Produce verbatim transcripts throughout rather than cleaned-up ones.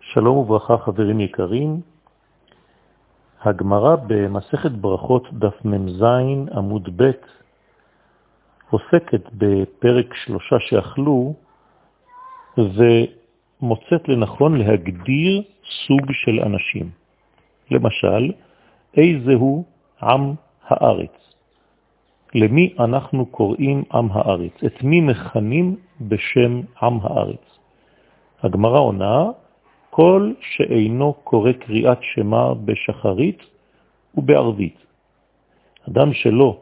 שלום וברכה חברים יקרים. הגמרא במסכת ברכות דף מ"ז עמוד ב' עוסקת בפרק שלושה שאכלו ומוצאת לנכון להגדיר סוג של אנשים. למשל, איזהו עם הארץ? למי אנחנו קוראים עם הארץ? את מי מכנים בשם עם הארץ? הגמרא עונה, כל שאינו קורא קריאת שמה בשחרית ובערבית. אדם שלא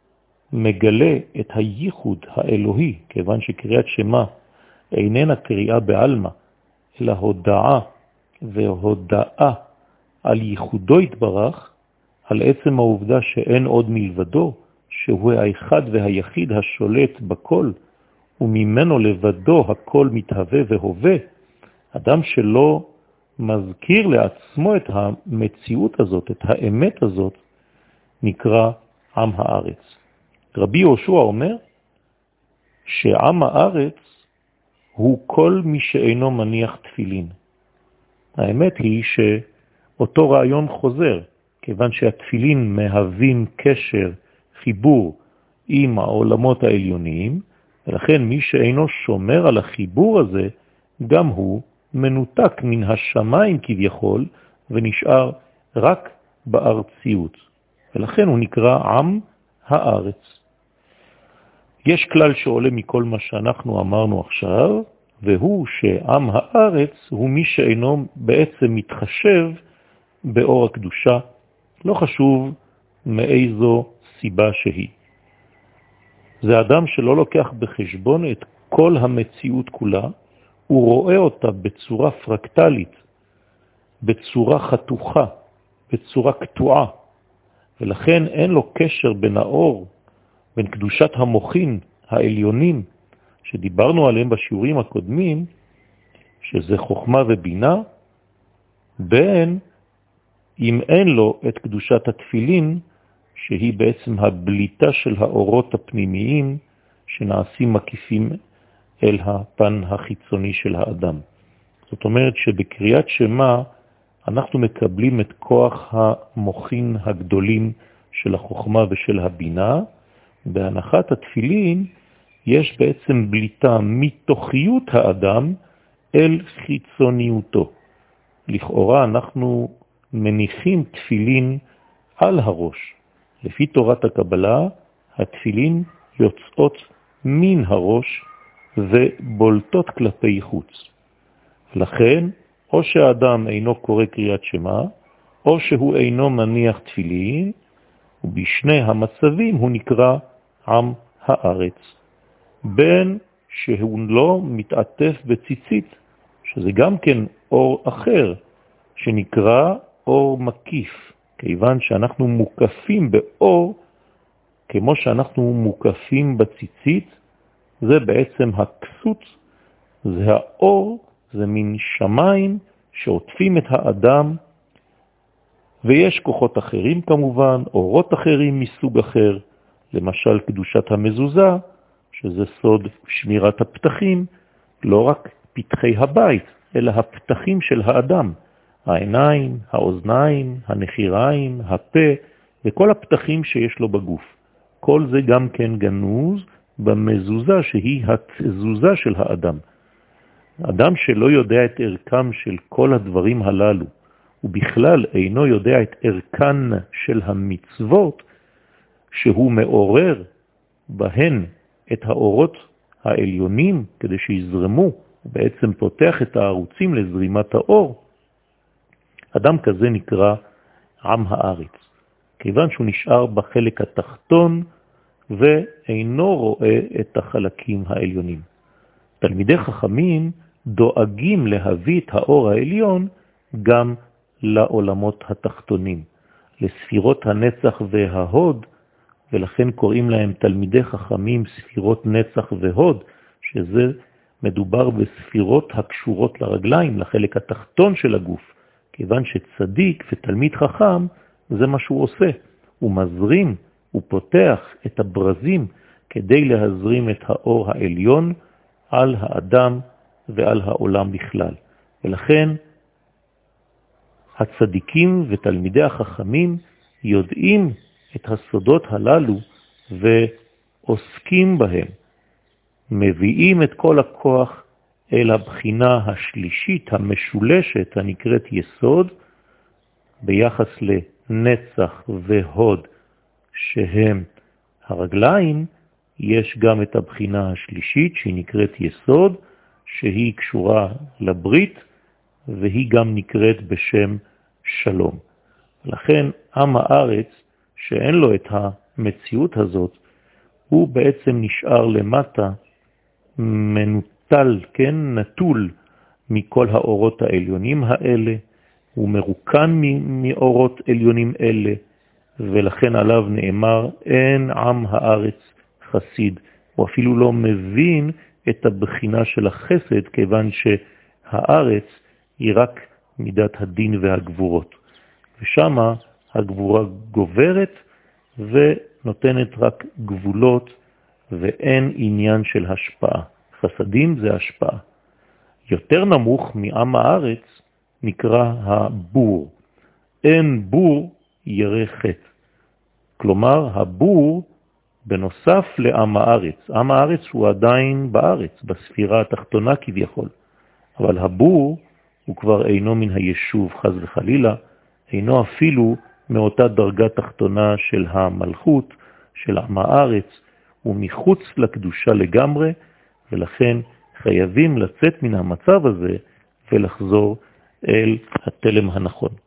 מגלה את הייחוד האלוהי, כיוון שקריאת שמה איננה קריאה בעלמא, אלא הודעה והודעה על ייחודו יתברך, על עצם העובדה שאין עוד מלבדו, שהוא האחד והיחיד השולט בכל, וממנו לבדו הכל מתהווה והווה. אדם שלא מזכיר לעצמו את המציאות הזאת, את האמת הזאת, נקרא עם הארץ. רבי יהושע אומר שעם הארץ הוא כל מי שאינו מניח תפילין. האמת היא שאותו רעיון חוזר, כיוון שהתפילין מהווים קשר, חיבור עם העולמות העליוניים, ולכן מי שאינו שומר על החיבור הזה, גם הוא מנותק מן השמיים כביכול, ונשאר רק בארציות. ולכן הוא נקרא עם הארץ. יש כלל שעולה מכל מה שאנחנו אמרנו עכשיו, והוא שעם הארץ הוא מי שאינו בעצם מתחשב באור הקדושה, לא חשוב מאיזו סיבה שהיא. זה אדם שלא לוקח בחשבון את כל המציאות כולה, הוא רואה אותה בצורה פרקטלית, בצורה חתוכה, בצורה קטועה, ולכן אין לו קשר בין האור, בין קדושת המוחין העליונים, שדיברנו עליהם בשיעורים הקודמים, שזה חוכמה ובינה, בין אם אין לו את קדושת התפילין, שהיא בעצם הבליטה של האורות הפנימיים, שנעשים מקיפים אל הפן החיצוני של האדם. זאת אומרת שבקריאת שמה אנחנו מקבלים את כוח המוחין הגדולים של החוכמה ושל הבינה. בהנחת התפילין יש בעצם בליטה מתוכיות האדם אל חיצוניותו. לכאורה אנחנו מניחים תפילין על הראש. לפי תורת הקבלה, התפילין יוצאות מן הראש ובולטות כלפי חוץ. לכן, או שהאדם אינו קורא קריאת שמה, או שהוא אינו מניח תפילין, ובשני המצבים הוא נקרא עם הארץ. בין שהוא לא מתעטף בציצית, שזה גם כן אור אחר, שנקרא אור מקיף, כיוון שאנחנו מוקפים באור, כמו שאנחנו מוקפים בציצית, זה בעצם הכסות, זה האור, זה מין שמיים שעוטפים את האדם, ויש כוחות אחרים כמובן, אורות אחרים מסוג אחר, למשל קדושת המזוזה, שזה סוד שמירת הפתחים, לא רק פתחי הבית, אלא הפתחים של האדם, העיניים, האוזניים, הנחיריים, הפה, וכל הפתחים שיש לו בגוף. כל זה גם כן גנוז במזוזה שהיא התזוזה של האדם. אדם שלא יודע את ערכם של כל הדברים הללו, ובכלל אינו יודע את ערכן של המצוות, שהוא מעורר בהן את האורות העליונים כדי שיזרמו, ובעצם פותח את הערוצים לזרימת האור, אדם כזה נקרא עם הארץ, כיוון שהוא נשאר בחלק התחתון ואינו רואה את החלקים העליונים. תלמידי חכמים דואגים להביא את האור העליון גם לעולמות התחתונים, לספירות הנצח וההוד, ולכן קוראים להם תלמידי חכמים ספירות נצח והוד, שזה מדובר בספירות הקשורות לרגליים, לחלק התחתון של הגוף, כיוון שצדיק ותלמיד חכם זה מה שהוא עושה, הוא מזרים, הוא פותח את הברזים כדי להזרים את האור העליון על האדם ועל העולם בכלל. ולכן הצדיקים ותלמידי החכמים יודעים את הסודות הללו ועוסקים בהם, מביאים את כל הכוח אל הבחינה השלישית המשולשת הנקראת יסוד, ביחס לנצח והוד שהם הרגליים, יש גם את הבחינה השלישית שהיא נקראת יסוד, שהיא קשורה לברית, והיא גם נקראת בשם שלום. לכן עם הארץ שאין לו את המציאות הזאת, הוא בעצם נשאר למטה, מנוטל, כן, נטול מכל האורות העליונים האלה, הוא מרוקן מאורות עליונים אלה, ולכן עליו נאמר, אין עם הארץ חסיד. הוא אפילו לא מבין את הבחינה של החסד, כיוון שהארץ היא רק מידת הדין והגבורות. ושמה הגבורה גוברת ונותנת רק גבולות, ואין עניין של השפעה. חסדים זה השפעה. יותר נמוך מעם הארץ נקרא הבור. אין בור ירא חטא. כלומר, הבור בנוסף לעם הארץ. עם הארץ הוא עדיין בארץ, בספירה התחתונה כביכול. אבל הבור הוא כבר אינו מן היישוב חס וחלילה, אינו אפילו מאותה דרגה תחתונה של המלכות, של עם הארץ, הוא מחוץ לקדושה לגמרי, ולכן חייבים לצאת מן המצב הזה ולחזור אל התלם הנכון.